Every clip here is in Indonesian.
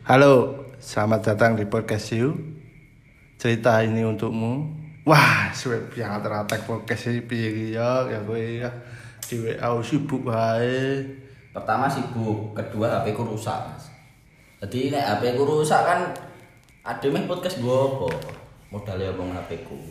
Halo, selamat datang di podcast You. Cerita ini untukmu. Wah, suwe piye teratek podcast iki piye ya kowe ya. Di WA sibuk wae. Pertama sibuk, kedua HP ku rusak, Mas. Jadi nek HP ku rusak kan ade meh podcast gua apa? Modale omong HP ku.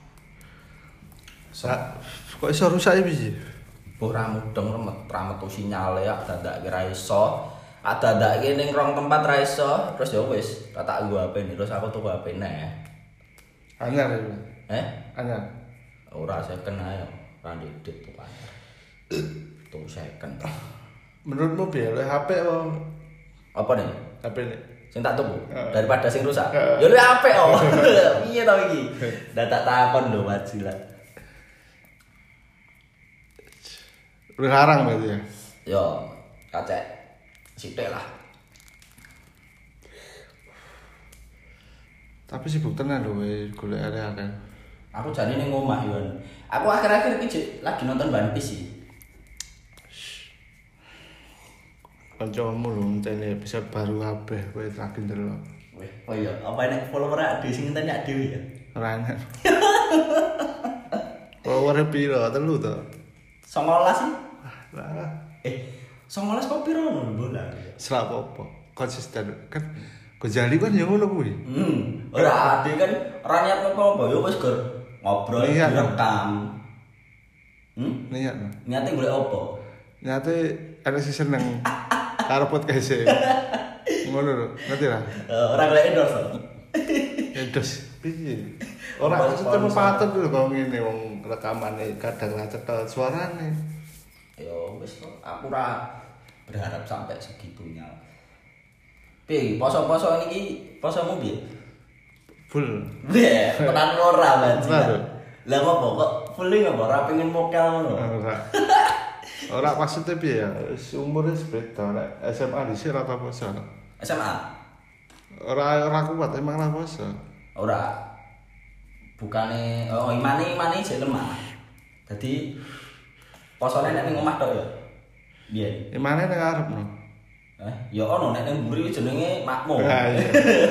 Kok iso rusak iki piye? Ora mudeng metu sinyale ya dadak kira iso. Ada ning rong tempat ra iso, terus ya wis, tak gua HP ini terus aku tuku HP neh. Anyar iki. Anyar. Ora second ae, ora ndedit tuh anyar. Tuh second. Menurutmu piye le HP Apa nih? HP ini? Sing tak tuku daripada sing rusak. Ya lu HP oh. Piye to iki? Dadak takon lho wajilah. Lu larang berarti ya? Yo, kacek. Sithik lah. Tapi sibuk tenan lho golek area kan. Aku jane ning omah yo. Aku akhir-akhir iki lagi nonton One Piece sih. Kancamu lho ngenteni episode baru kabeh kowe lagi ndelok. Weh, oh iya, apa nek follower ade sing ngenteni dhewe ya? Ora enak. Follower piro? 3 to? 19 sih. Lah, 19 kok piro ngono bola. selak apa? Konsisten kan Gojali kan ya ngono kuwi. Ora ade kan ora niat apa-apa ya wis gur ngobrol Niat. direkam. Niat. Niate golek apa? Nyate ana sing seneng karo podcast e. Ngono lho, ngerti ra? Ora golek endorse. Edos piye? Ora ketemu patut lho kok ngene wong rekamane kadang ra cetha suarane. Yo wis kok aku ora berharap sampai segitunya. Pi, poso-poso niki posomu piye? Full. Weh, tenan ora Mas. Ora. Lah ngopo kok full ngopo ora pengen mokel ngono. Ora. Ora maksudnya piye ya? Wis umure beda nek SMA dhisik ora poso. SMA? Ora kuat emang ora poso. Ora. Bukane imane jek lemah. Dadi posone nek ning omah tok ya. Biyen. Emane nek arepno. Ya ono nek ning mburi jenenge makmum. Ah iya.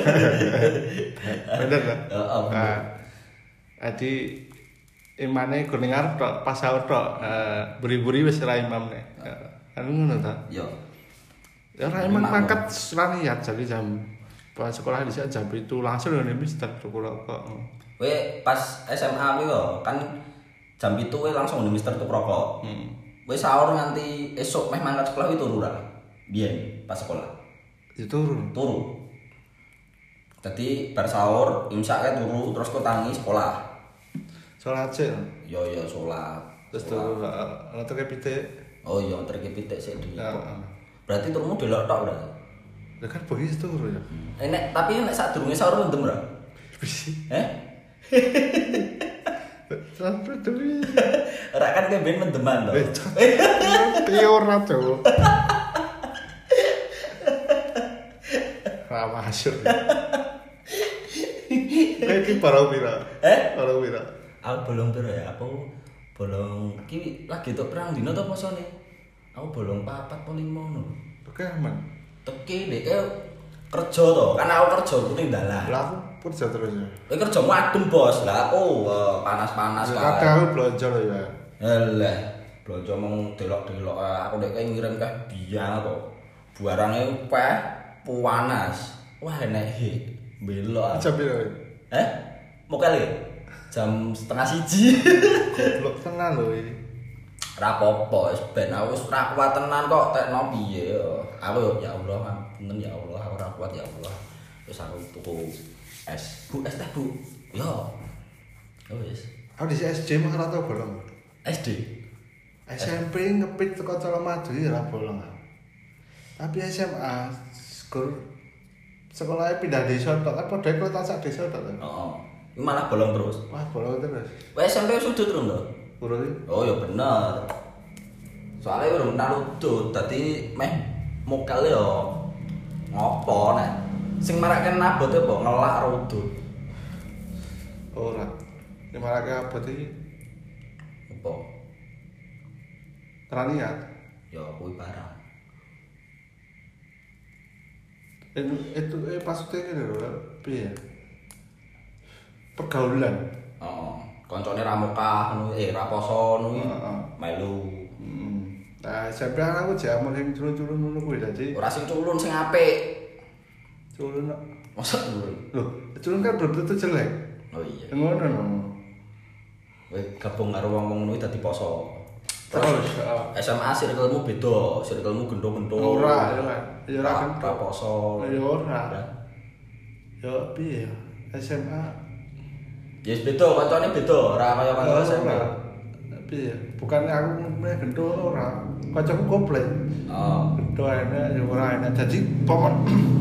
Bener kan? Heeh. Adi imane kuning arep tok pas sahur tok buri-buri wis ora imam nek. Kan ngono ta? Yo. Ya ora emang mangkat ra niat jadi jam pas sekolah di jam itu langsung nih mister tuku rokok. Kowe pas SMA kuwi kok kan jam 7 kowe langsung ning Mister tuku rokok. Kowe sahur nganti esuk meh mangkat sekolah kuwi turu ra? Biyen pas sekolah. Ya turun. Turu. Dadi bar sahur imsake turu terus kok tangi sekolah. Salat sik. Yo salat. Terus turu ngono ke pitik. Oh iya trike pitik sik dhewe. Heeh. Berarti turumu delok tok berarti. Lah kan bengi turu ya. Tapi nek sadurunge sahur mendem ra? Bisi. Sampai dulu. Ora kan kowe ben mendeman to. Piye ora to. Ra masuk. Iki parau pira? Parau pira? Aku bolong piro ya? Aku bolong iki lagi tok perang dino to posone. Aku bolong 4 apa 5 ngono. Oke aman. Teki nek kerja to, kan aku kerja ku ning dalan. Lah aku kerja terus ya. Kowe kerjamu adem, Bos. Lah aku panas-panas kae. Kadang belanja lho ya. Halah, belanja mung delok-delok aku nek ngirim ke biang to. Buarange peh panas. Wah enek belok. Jam piro? Mokel ya? Jam 1:30. Goblok tenan lho iki. Ora apa-apa, wis ben aku wis ora kuat tenan kok tekno piye yo. Aku ya Allah, punten ya Allah, aku ora kuat ya Allah. Wis aku tuku es. Bu, es teh, Bu. Yo. Ya wis. Aku di SD mah ora tau bolong. SD. SMP ngepit teko Colomadu ya ora bolong. Tapi SMA sekolahnya pindah desa tok kan padha kok tasak desa tok. Heeh. Ini malah bolong terus. Wah, bolong terus. Wes SMP sudut terus lho. Buru iki. Oh ya bener. Soalnya urung naludut, dadi meh mokel yo ngopo nek sing marake nabote apa ngelak rudut. Ora. Nek marake abot iki Apa? ra niat. Ya kuwi barang. Itu maksudnya gini lho, piye? Pergaulan. Heeh. Koncone ra mokah ngono, ra poso ngono iki. Melu. Nah, sampe aku jek amun culun-culun ngono kuwi dadi. Ora sing culun sing apik. Culun kok. Masa culun? Loh, culun kan belum tentu jelek. Oh iya. Ngono no. Kowe gabung karo wong-wong ngono dadi poso. Terus SMA circle-mu beda, circle-mu gendo-gendo. ora ya kan. Ya ora kan ra poso. Ya ora. Ya piye? SMA Ya wis beda, kancane beda, ora kaya kanca SMA. Piye? Bukan aku meh gendo ora. Kancaku komplek. Oh. Gendo enak ya ora enak. Jadi pokok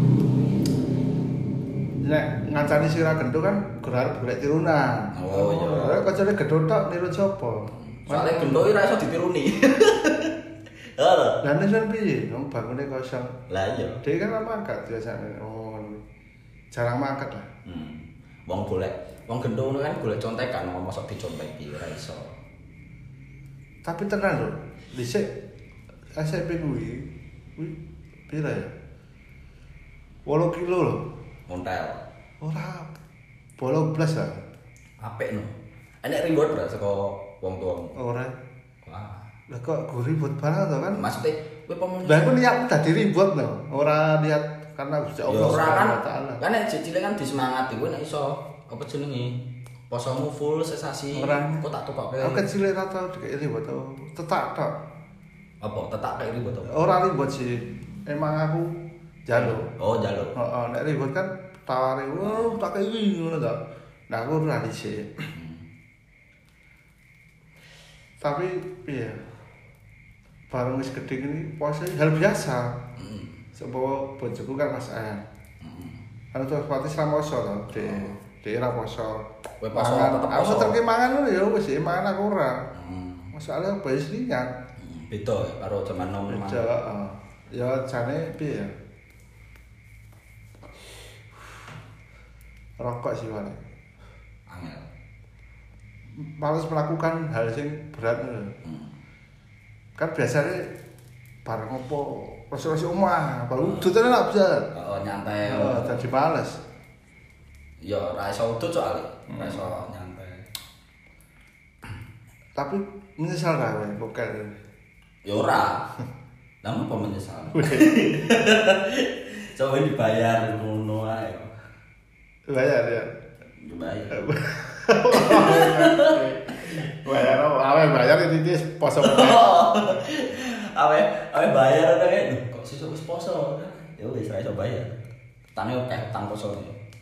nek ngancani sira gendo kan gelar golek tirunan. Oh iya. Kancane gendo tok niru sapa? Soale gendo iki ora iso ditiruni. Halo. Lah nek sampe piye? Wong bangune kosong. Lah iya. Dia kan lama mangkat biasanya. Oh, jarang mangkat lah. Wong golek, wong gendo ngono kan golek contekan, wong mosok diconteki ora iso. Tapi tenan lho, dhisik SMP kuwi pira ya? 8 kilo lho. Montel. Ora 18 lah. Apik no. Enek reward bra saka wong tuamu. Ora. Wah. Lah kok gue ribut banget to kan? Maksudnya kowe pemen. Lah aku niat dadi ribut lho. Ora niat karena Gusti Allah Subhanahu wa taala. Kan nek cilik kan disemangati kowe nek iso apa jenenge? Posomu full sesasi. Kok tak tukokke. Aku kecil ora tau dikek ribut to. Tetak tok. Apa tetak kayak ribut to? Ora ribut sih. Emang aku jaluk. Oh, jaluk. Heeh, nek ribut kan taware, "Wah, tak kei ngono to." Nah, aku ora dhisik. Tapi piye? Bareng wis gedhe ini puasa hal biasa. Sebab bojoku kan Mas An. Kan terus pati slamoso to, Dek ora poso. Kowe poso tetep poso. Aku terke mangan ngono ya wis mangan aku ora. Masalah bayi lingat. Beda karo jaman nom. Beda, heeh. Ya jane piye ya? Rokok sih wae. Angel. Males melakukan hal sing berat ngono. Kan biasanya bareng opo rasa-rasa omah, baru udutane lak bisa. Heeh, nyantai. Heeh, dadi males. Ya ora iso udut soalé. Ora iso nyantai. Tapi menyesal ra kowe bokel. Ya ora. Namun apa menyesal? Coba dibayar ngono ae. Bayar ya. Dibayar. Bayar itu poso. Awe bayar kan kok sesuk wis poso. Ya wis ra iso bayar. Tane oke tang poso.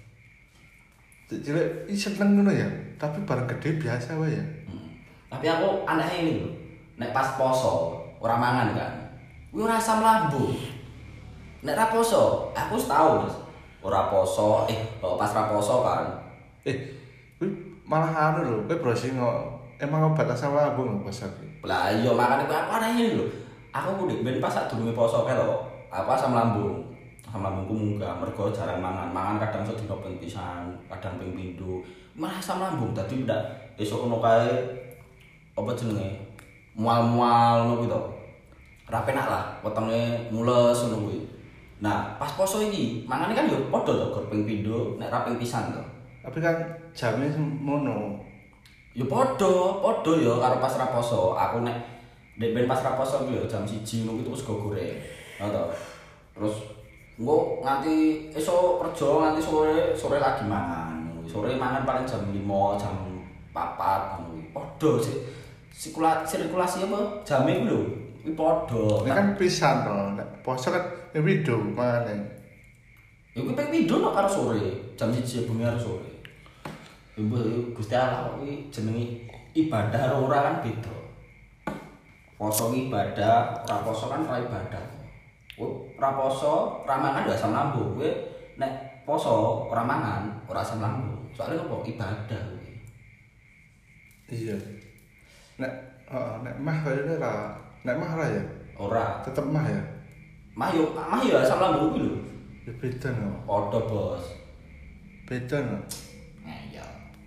Cilik seneng ngono ya, tapi bareng gede biasa wae ya. Tapi aku aneh ini lho. Nek pas poso ora mangan kan. Kuwi ora asam lambung. Nek ra poso, aku wis tau Mas. Ora poso, pas ra poso kan. Kuwi malah anu lho, kowe browsing emang obat asam lambung lho poso iki. Lah iya makane aku aneh ini lho. Aku kudu ben pas sadurunge poso kae lho. Apa asam lambung. Asam lambungku munggah mergo jarang mangan. Mangan kadang sedina ping pisan, kadang ping pindho. Malah asam lambung dadi ndak esuk ngono kae apa jenenge? Mual-mual ngono kuwi to. Ora penak lah, wetenge mules ngono kuwi. Nah, pas poso iki, mangane kan yo padha to gor ping pindho, nek ra ping pisan to. Tapi kan jamnya mono. Ya padha ya karo pas ra poso. Aku nek ben pas ra poso ku yo jam 1 ngono itu wis go goreng. Ngono to. Terus engko nganti esuk kerja nganti sore lagi mangan. Sore mangan paling jam 5, jam 4 ngono kuwi. Padha sirkulasi apa jame ku lho. Kuwi padha. Ini kan pisan to, nek poso kan wido mangane. Ya kuwi ping pindho nek karo sore, jam 1 bengi karo sore. Ibu Gusti Allah kuwi jenenge ibadah karo ora kan beda. Poso ibadah, ora poso kan ora ibadah. Ora poso, ora mangan ya asam lambung. Kuwi nek poso ora mangan, ora asam lambung. Soale opo ibadah kuwi. Iya. Nek mah kayane nek mah ora ya. Ora, Tetep mah ya. mah ya asam lambung kuwi lho. Ya beda no. Padha, Bos. Beda no. Iya.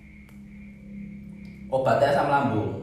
Obatnya asam lambung.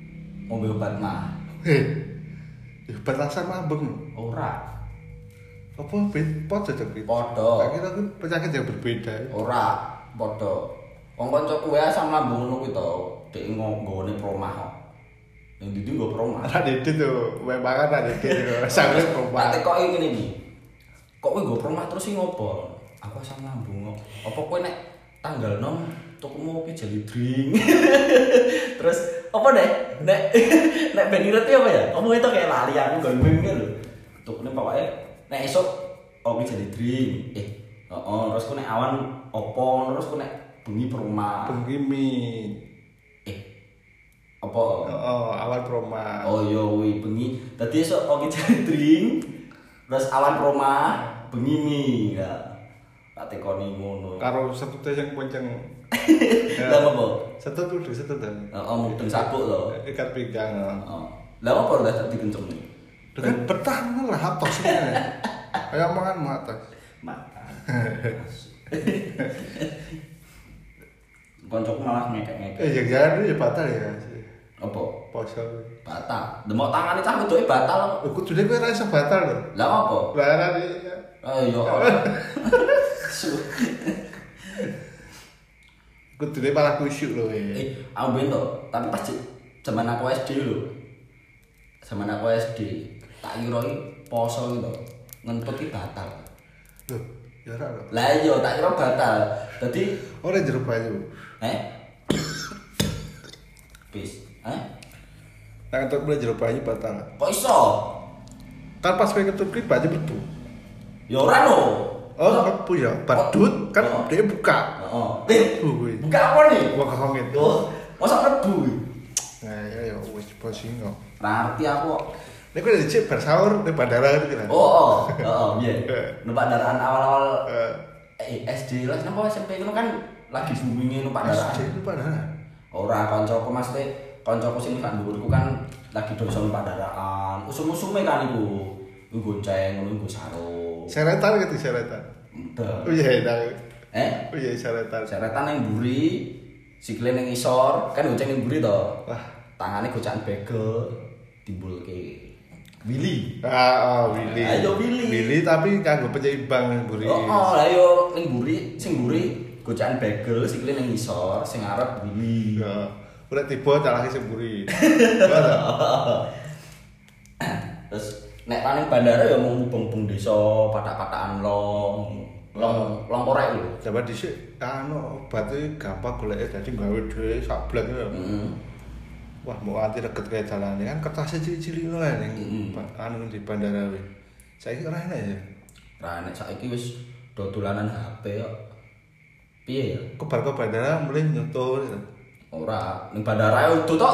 Ngombe obat mah. Ya obat asam lambung no. Ora. Apa podo cok? Podo. Tak kira ku penyakit yang berbeda. Ora, podo. Wong kancaku wae asam lambung ngono kuwi to. Dek nggone promah kok. Ning ndi nggo promah. Ada itu tuh, memang ada itu. Sampai promah. Ate kok ngene iki. Kok kowe nggo promah terus sing ngopo? Aku asam lambung kok. Apa kowe nek tanggal 6 tukumu kopi jelly drink. Terus apa deh? Nek ben ngerti apa ya? Kamu itu kayak lali aku gandeng lho. Tukune pokoke nek esuk kopi jelly drink. Terus ku nek awan opo, terus ku nek bengi perumah. Bengi mie. Apa? Awan proma. Oh iya kuwi bengi. Dadi esuk kopi jelly drink. Terus awan perumah, bengi mie. Ya. Tak tekoni ngono. Karo setute yang kenceng. Lah apa? Setut udah setut. Mudeng sabuk lho. Ikat pinggang. Lah apa lah tak dikenceng nih? Dengan betah lah atas sebenarnya. Kayak makan atas. Mata. Koncoku malah ngekek-ngekek. Ya jangan ya batal ya. Apa? Poso. Batal. Demok tangane cah wedoke batal. Lho kudune kowe ora iso batal lho. Lah apa? Lah ora Ayo. kudune malah kusyuk lho. Aku ben to, tapi pas zaman aku SD lho. Zaman aku SD, tak kira poso iki to. Ngentut iki batal. Lho, ya ora lho. Lah iya, tak kira batal. Dadi Ora jero banyu. Bis. Nang entuk mulai jero banyu batal. Kok iso? Kan pas kowe ketut ki banyu mlebu. Ya ora no. Oh, mlebu ya. Badut kan dia buka. Heeh. Buka apa nih? Wah, kongit. Oh, masa mlebu. Nah, ya wis posing kok. Ngerti aku. Nek kowe dicek bar sahur di bandara gitu kan. Iya. Numpak daraan awal-awal SD lah, napa SMP itu kan lagi booming numpak daraan. SD itu bandara. Ora kancaku maksudnya kancaku sing kan dhuwurku kan lagi dosa numpak daraan. Usum-usume kan iku. Iku gonceng ngono iku sarung. Seretan gitu seretan. Udah. Oh iya, tahu. Oh iya seretan. Seretan yang mburi, sikile ning isor, kan goceng ning mburi to. Wah, Tangane gocakan bagel timbulke. Willy. Willy. Ayo Willy. Willy tapi kanggo penyeimbang mburi. Lah yo ning mburi, sing mburi gocakan bagel, sikile ning isor, sing arep Willy. Ya. Udah tiba tak lagi sing mburi. Terus nek paling bandara ya mau mubeng-mubeng desa, patak-patakan long korek lho. Coba dhisik obatnya gampang goleke dadi gawe dhewe sablek ya. Wah, mau anti deket kayak jalan kan kertasnya cilik-cilik ngono ning di bandara kuwi. Saiki ora enak ya. Ora enak saiki wis dodolanan HP kok. Piye ya? Kebar ke bandara mulai nyoto. Ora, ning bandara ya udah tok.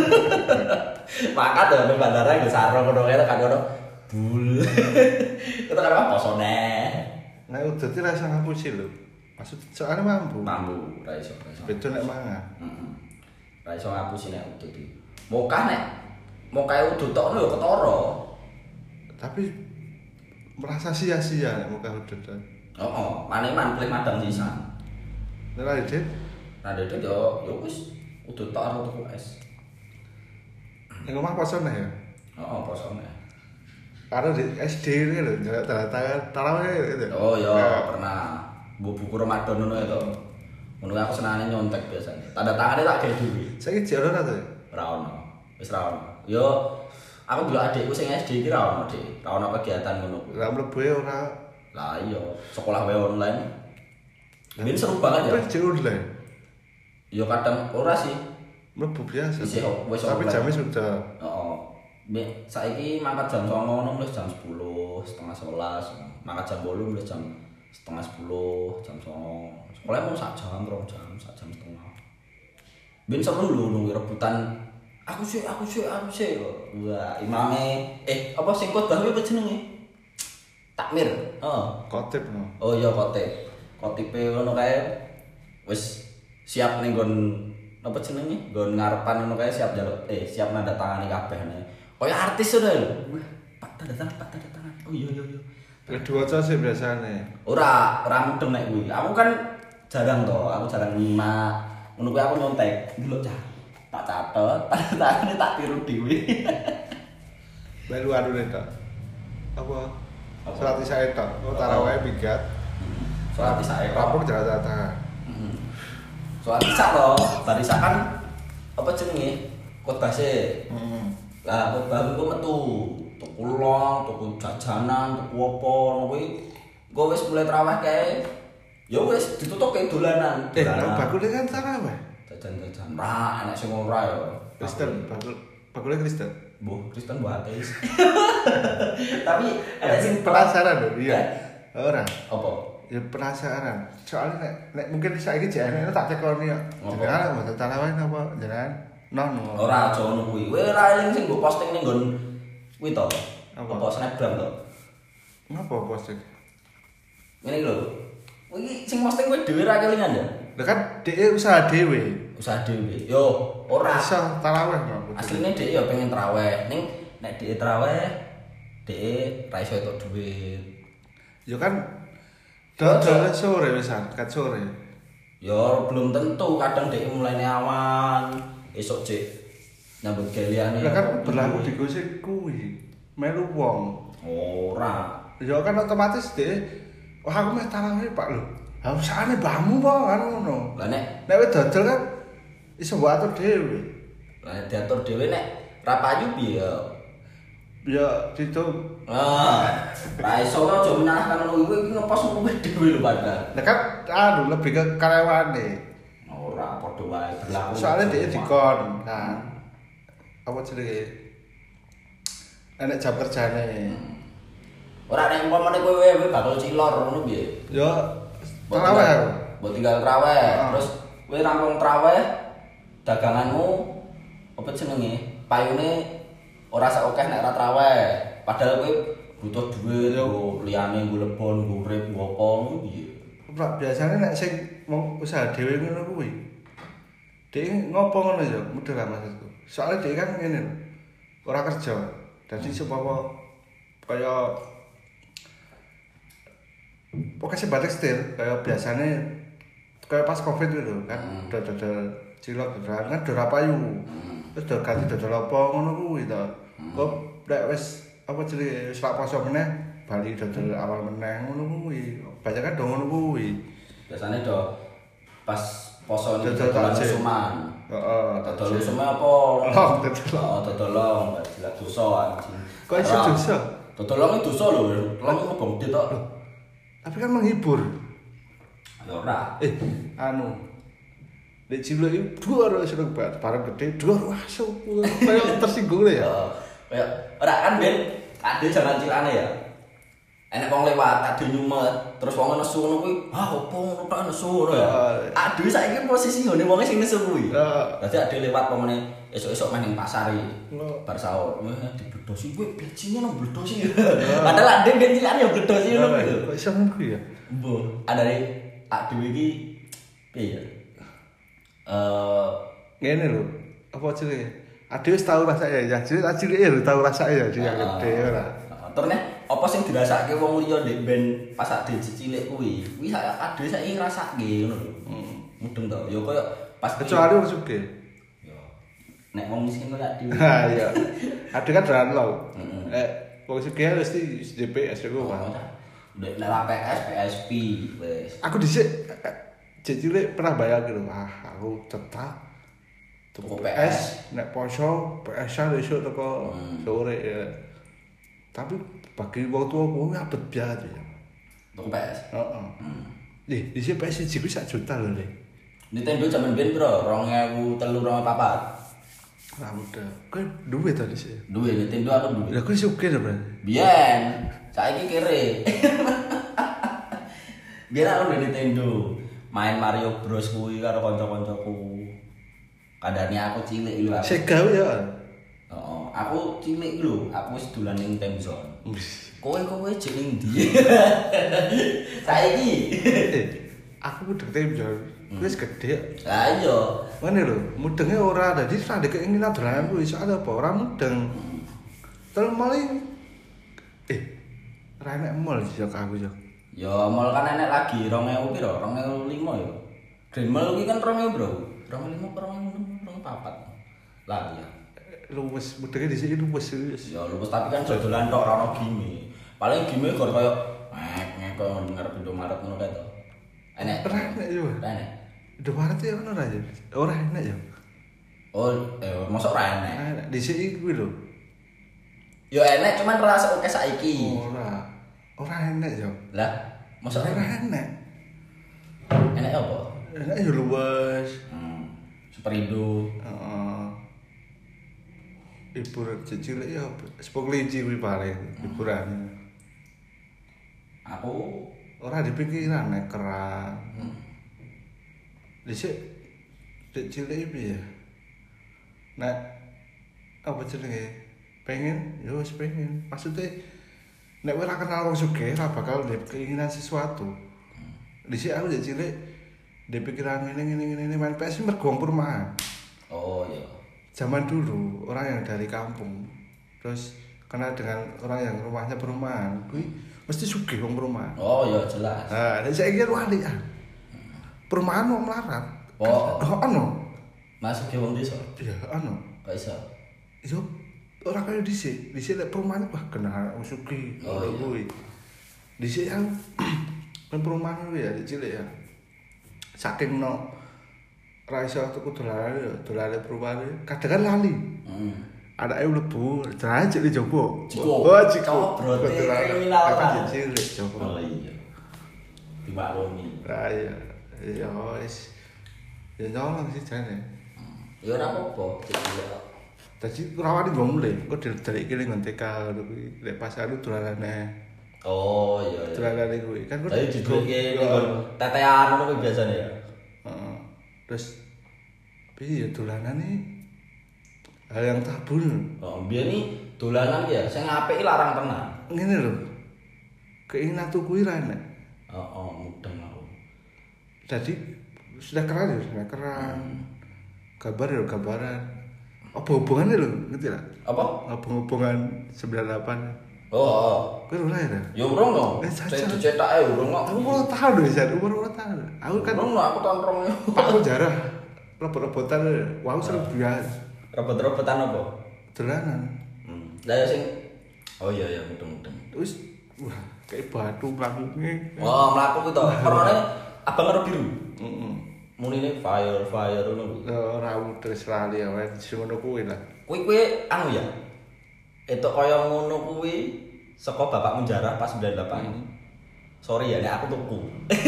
Makat ya ning bandara nggo sarung ngono kae kan ono bul. Itu kan apa posone. Nah, udah ti rasa ngapusi lho. Maksud soalnya mampu. Mampu, ra iso. Betul nek mangan. Heeh. Ra iso ngapusi nek udah iki. Mokah nek mokahe udah tok lho ketara. Tapi merasa sia-sia nek muka udah. Heeh, maneman pleh madang sisan. Nek Dit, Nah, dadi yo wis udah tok karo tuku es. ning omah posone ya. Heeh, posone. Karo di SD ini lho, njaluk tanda tarawih gitu. Oh iya, pernah. Buku Ramadan ngono itu. Ngono aku senengane nyontek biasanya. Tanda tangane tak gawe dhewe. Saiki jek ora to. Ora ono. Wis ra ono. Yo aku dulu adikku sing SD iki ra ono, Dik. Ra ono kegiatan ngono kuwi. Ora mlebu e ora. Lah iya, sekolah wae online. Ini seru banget ya. Tapi jek online. Yo kadang ora sih. Mlebu biasa. Wis Tapi online. jamnya sudah. Heeh. Saiki mangkat jam 09.00 mulai jam 10, setengah 11. Mangkat jam 8 mulai jam setengah 10, jam 09.00. Sekolah mau sak jam setengah. Ben seru lho nunggu rebutan. Aku sih. Wah, imame apa sing khotbah kuwi apa jenenge? Takmir. Heeh. Khotib no. Oh iya khotib. Khotibe ngono kae wis siap ning nggon apa jenenge? Nggon ngarepan ngono kae siap njaluk siap nanda tangani kabeh ne. Kaya artis ngono lho. Pak tanda tangan. Oh iya. Kedua sih biasanya. Ora mudeng nek kuwi. Aku kan jarang to, aku jarang nyimak. Ngono kuwi aku nyontek. Delok cah. Tak catet, tangane tak tiru dhewe. Baru anu nek Apa Salat isya tok. Oh, tarawih minggat. Salat isya tok. Rampung jalan-jalan. Salat isya to, bar isya kan apa jenenge? Khotbah sih. Lah khotbah ku metu, tuku long, tuku jajanan, tuku apa ngono kuwi. Engko wis mulai tarawih kae. Ya wis ditutup kayak dolanan. Bakule kan tarawih. Jajan-jajan. Ra enek sing ora ya. Kristen, bakule Kristen. Mbah, Kristen mbah ateis. Tapi enek sing penasaran lho, iya. Ora. Apa? Ya penasaran. Soalnya nek mungkin saiki jek enek tak tekoni ya. Jenengan mboten tarawih napa jenengan? Non. Ora aja ngono kuwi. Kowe ora eling sing mbok posting ning nggon kuwi to. Apa Snapgram to? Napa posting? Ngene lho. Iki sing posting kowe dhewe ra kelingan ya? Lah kan dhek usaha dhewe. Usaha dhewe. Yo, ora iso tarawih kok. Asline dhek yo pengen tarawih. Ning nek dhek tarawih, dhek ra iso entuk duit. Yo kan dodol sore wisan, kat sore. Yo belum tentu, kadang dhek mulainya awan, esuk cek nyambut galiane. Lah kan berlaku di gosik kuwi. Melu wong. Ora. Yo kan otomatis dhek wah aku meh tarawih Pak lho. Harusane mbahmu po kan ngono. Lah nek wis dodol kan iso mbok atur dhewe. Lah diatur dhewe nek ra payu piye ya? Ya ditung. Ra iso aja menyalahkan ngono kuwi ngepost kowe dhewe lho padahal. Lah kan lebih ke karyawane. Ora padha wae berlaku. Soale dhek dikon. Nah. Apa jenenge? Enek jam kerjane. Ora nek umpamane kowe bakal cilor ngono piye? Ya tarawih aku. Mbok tinggal tarawih, terus kowe rampung tarawih daganganmu apa jenenge? Payune ora sak akeh nek ora tarawih. Padahal kowe butuh duit yo liyane nggo lebon, nggo urip, nggo apa ngono piye? Ora biasane nek sing wong usaha dhewe ngono kuwi. Dhek ngopo ngono ya? Mudah lah maksudku. Soale dhek kan ngene lho. Ora kerja. Dadi supaya kaya pokoknya sebat tekstil kayak biasanya kayak pas covid gitu kan dodol cilok dodolan kan dora payu terus dodol ganti dodol apa ngono kuwi to kok nek wis apa jenenge wis lak poso meneh bali dodol awal meneh ngono kuwi banyak kan do ngono kuwi biasanya do pas poso dodol suman heeh dodol suman apa dodol long jelas dosa anjing kok iso dosa dodol long itu dosa lho long ngebong dit tok. Tapi kan menghibur. Ya ora. Anu. Nek cilik iki dhuwur seneng banget, bareng gede dhuwur wah kayak tersinggung lho ya. Kayak ora kan ben ade jaman cilane ya. Enek wong lewat ade nyumet, terus wong nesu ngono kuwi, "Ah, opo ngono tok nesu ngono ya." Ade saiki posisi ngene wong sing nesu kuwi. Dadi ade lewat pemene esuk-esuk main ning pasar iki. Bar sahur, dibledosi kowe bijine nang bledosi. Padahal ade ben cilane ya bledosi ngono kuwi. Kok iso ngono kuwi ya? Mbah, adane ak dhewe iki piye ya? Ngene lho, apa jenenge? Ade wis tau rasake ya, jadi cilik ya tau rasake ya dia gede ora. Terus nek apa sing dirasake wong liya ndek ben pas ade cilik kuwi ade saiki ngrasake ngono lho. Mudeng to. Ya koyo pas kecuali wong sugih. Ya. Nek wong miskin kok ade. Ha iya. Ade kan dolan lho. Wong sugih mesti DPS iku Pak. Nek ora PS, PSP wis. Aku dhisik cilik pernah bayar gitu. Wah, aku cetak tuku PS, nek poso PS-an esuk teko sore ya. Tapi bagi wong tua kuwi abet banget ya. Tuku PS. Heeh. Dhisik PS siji kuwi 1 juta lho, Le. Nintendo jaman biyen bro, 2003 2004. Ora mudah. Kowe duwe to dhisik? Duwe Nintendo aku duwe. Lah kowe sugih to, Bro? Biyen, saiki kere. Biyen aku duwe Nintendo. Main Mario Bros kuwi karo kanca-kancaku. Kadane aku cilik lho aku. Sega ya. Heeh, aku cilik lho, aku wis dolan ning Temzone. Kowe jek ning ndi? Saiki. Aku mudeng Temzone. Wis gede. Lah iya. Ngene lho, mudenge ora dadi ora ndek keinginan dolanan kuwi soal apa? Ora mudeng. Terus maling ora enek mall yo aku yo. Ya mall kan enek lagi 2000 piro? 2005 ya. Grand Mall kuwi kan 2000, Bro. 2005 apa 2004. Lah ya. Luwes mudenge dhisik luwes. Ya luwes tapi kan dodolan tok ora ono gini. Paling game gor koyo koyo ngarep Indomaret ngono kae to. Enek. Ora enek yo. Enek. Indomaret ya ono ora ya? Ora enek ya. Oh, mosok ora enek. Enek dhisik iki kuwi lho. Yo enek cuman rasa oke saiki. Ora enek ya. Lah, mosok ora enek. Enek apa? Enek yo luwes. Superindo. Heeh. Hiburan cilik ya sepok kelinci kuwi paling hiburan. Aku ora dipikiran nek kerang. Dhisik dek cilik piye? Nek apa jenenge? Pengen, yo wis pengen. Maksudnya nek ora kenal wong sugih ora bakal ndek keinginan sesuatu. Dhisik aku dek cilik ndek pikiran ngene main PS mergo perumahan. Oh iya. Zaman dulu orang yang dari kampung terus kenal dengan orang yang rumahnya perumahan, kuwi mesti sugih wong perumahan. Oh iya jelas. Nah, nek saiki wali ah. Perumahan wong melarat. Oh ono. Masuk ke wong desa. Iya, ono. Kok iso? Yo ora kaya dhisik. Dhisik lek perumahan wah kenal wong sugih. Oh iya. Kuwi. Dhisik yang kan perumahan kuwi ya cilik ya. Saking no ra iso tuku dolane perumahan kadang kan lali. Anake mlebu, jajak di jopo. Oh, ciko. Brote kriminal kan cilik jopo. Oh iya. Dimaklumi. Ra ya. Ya wis. Ya nyolong sih jane. Ya ora apa-apa, cilik. Dadi rawani nggo mulih, kok dari kene ngon TK ngono kuwi. Lek pas anu dolanane. Oh iya. Dolanane kuwi kan kok diduduke nggon tetean ngono kuwi biasane ya. Heeh. Terus piye dolanane hal yang tabu. Oh, biyen iki dolanan ya sing apik larang tenan. Ngene lho. Keinginan tuku ra enek. Heeh, mudeng aku. Jadi sudah keren. Gambar ya gambaran. Apa hubungannya lho, ngerti lah? Apa? Hubungan 98. Oh. Kowe ora ya? Ya urung dong. Saya dicetake urung kok. Aku mau tahu lho, San. Umur tahun. Aku kan urung aku tontrong. Pak jarah. Robot-robotan. Wah, seru biasa. Robot-robotan apa? Dolanan. Lah ya sing oh iya ya mudeng-mudeng. Terus wah, kayak batu mlakune. Oh, mlaku ku to. Warnane abang karo biru. Heeh. Munine fire ngono. Ora terus lali ya, sing ngono kuwi lah. Kuwi anu ya. Etok kaya ngono kuwi saka bapak menjarah pas 98. Sorry ya, nek aku tuku.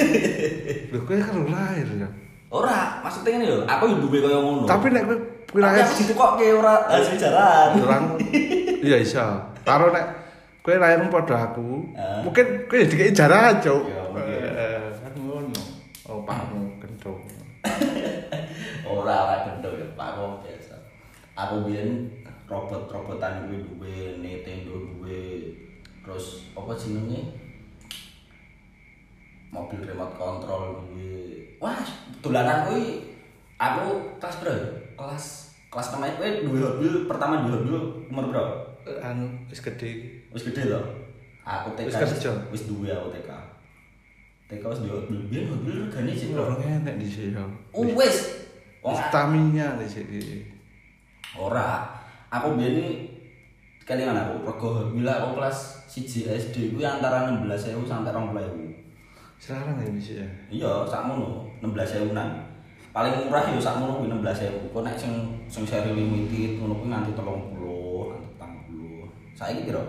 Lho kowe kan lahir ya. Ora, maksudnya ngene lho, aku yo duwe kaya ngono. Tapi nek kowe lahir aku ditukokke ora hasil jaran. Orang iya iso. Karo nek kowe lahir padha aku, mungkin kowe dikeki jaran, Cuk. Kan ngono. Oh, pakmu kentung. Ora gendong ya, pakmu biasa. Aku biyen robot-robotan kuwi duwe, Nintendo duwe. Terus apa jenenge? Mobil remote control duwe. Wah, dolanan kuwi aku kelas berapa? Kelas 6 kowe duwe mobil pertama duwe mobil umur berapa? Anu wis gede. Wis gede lho. Aku TK wis duwe aku TK. TK wis duwe mobil, biyen mobil regane sik Ora enek di sini. Wis. Wong Taminya di sini. ora. Aku biyen iki kelingan aku rego bila aku kelas 1 SD kuwi antara 16.000 sampai 20.000. Sekarang ya bisa ya. Iya, sakmono 16.000-an. Paling murah ya sakmono kuwi 16.000. Kok nek sing seri limited ngono kuwi nganti 30, nganti 40. Saiki piro?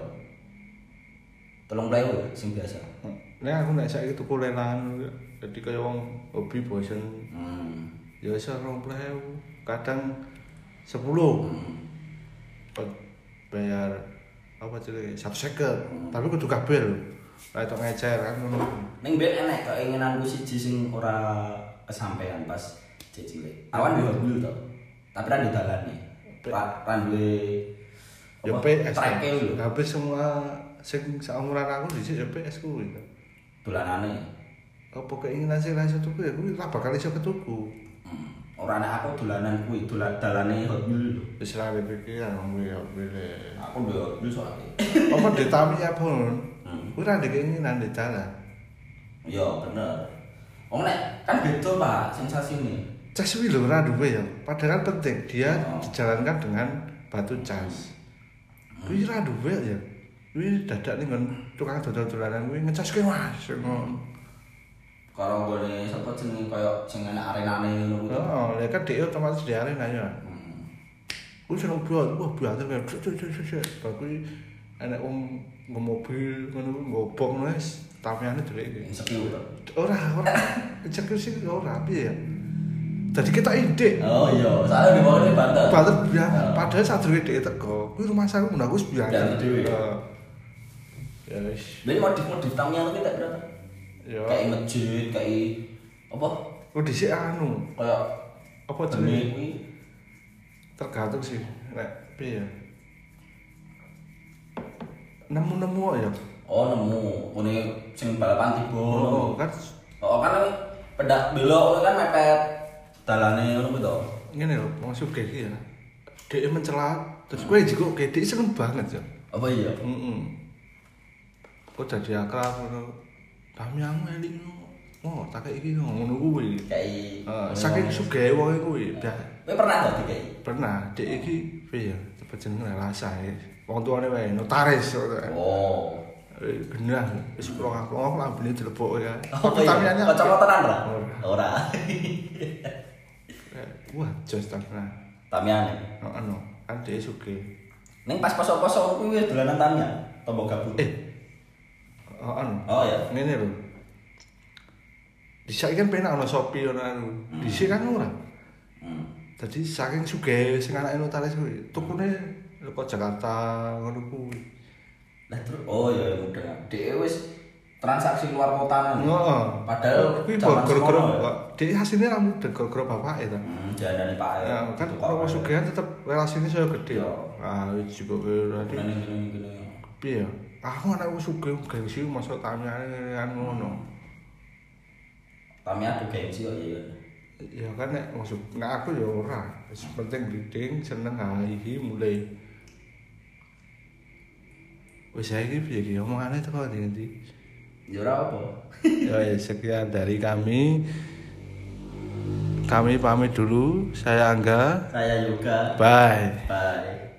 30.000 sing biasa. Nek aku nek saiki tuku lelangan jadi kaya wong hobi bosen. Ya iso 20.000, kadang 10. Bayar apa jenenge 150. Tapi kudu kabeh lho. Lah itu ngecer kan ngono. Ning ben enek keinginanku siji sing ora kesampaian pas cilik. Awan duwe mobil to. Tapi ra didalani. Ra duwe Ya PS. trake lho. Habis semua sing saumuran aku dhisik ya PS kuwi. Dolanane. Apa keinginan sing ra iso tuku ya kuwi ra bakal iso ketuku. Ora nek aku dolanan kuwi, dalane Hot Wheels lho. Wis ra pikiran kuwi ya pilih. Aku duwe Hot Wheels soalnya. Apa ditami apa? Kuwi ra ndek keinginan ndek dalan. Iya, bener. Wong nek kan beda, Pak, sensasine. Cas kuwi lho ora duwe ya. Padahal penting dia dijalankan dengan batu cas. Kuwi ra duwe ya. Kuwi dadak ning nggon tukang dodol-dolanan kuwi ngecaske Mas ngono. Karo gone sapa jenenge kaya sing enak arenane ngono kuwi. Heeh, lha kan dhek otomatis di arena ya. Kuwi seneng banget, wah banget kan. Bae kuwi enek wong mobil ngono ngobong wis tamiane delek iki. Sekiu. Ora eksekusi ora piye ya. Dadi kita ide. Oh iya, soalnya di bawah ini banter. Banter ya, padahal sadurunge dhek teko. Kuwi rumah saya ngono aku wis biasa. Ya wis. Lha modif-modif tamiane ki tak berapa? Ya. Kayak masjid, kayak apa? Oh dhisik anu, Kayak apa jenenge jenenge? kuwi Tergantung sih, nek piye ya. Nemu-nemu kok ya. oh nemu kene sing balapan tiba. Oh, kan Oh kan pedak belok kan mepet dalane ngono kuwi to. ngene lho, wong sugih iki ya. Dhek mencela, terus kowe jiko dhek seneng banget ya. Apa iya? Heeh. Kok dadi akrab ngono. Kami aku eling oh, tak iki ngono kuwi. Kayak Saking sugih wong kuwi. Kowe pernah dadi kayak? Pernah, dhek iki piye ya? Cepet jenenge lasae. Wong tuane wae notaris. Oh. Genah, wis kula aku lambene dilebokke ya. Oh iya, kocok tenan ora? Ora. Wah, jos tenan. Tamiane. Heeh no, kan dhek sugih. Ning pas poso-poso kuwi wis dolanan tamian, tombok gabut. Heeh no. Oh ya. Ngene lho. Dhisik kan penak ana Shopee ana anu. Dhisik kan ora. Dadi saking sugih sing anake notaris kuwi, tukune leko Jakarta ngono kuwi. Lah terus oh ya udah. Dhek wis transaksi luar kota nang. Heeh. Padahal kuwi zaman gara-gara sekolah ya. dhek asline ra mudeng gara-gara bapake ta. Jandane Pak. Ya kan kalau sugihan tetep relasine saya gede. Iya. Ah juga berarti Gini. piye ya? Aku anak wis sugih gengsi masa tamiane kan ngono. Tamian aku gengsi kok ya. Ya kan nek maksud nek aku ya ora. Wis penting breeding seneng iki mulai. Wis saiki piye iki omongane teko ndi? Ya ora apa. Ya sekian dari kami. Kami pamit dulu. Saya Angga. Saya juga. Bye. Bye.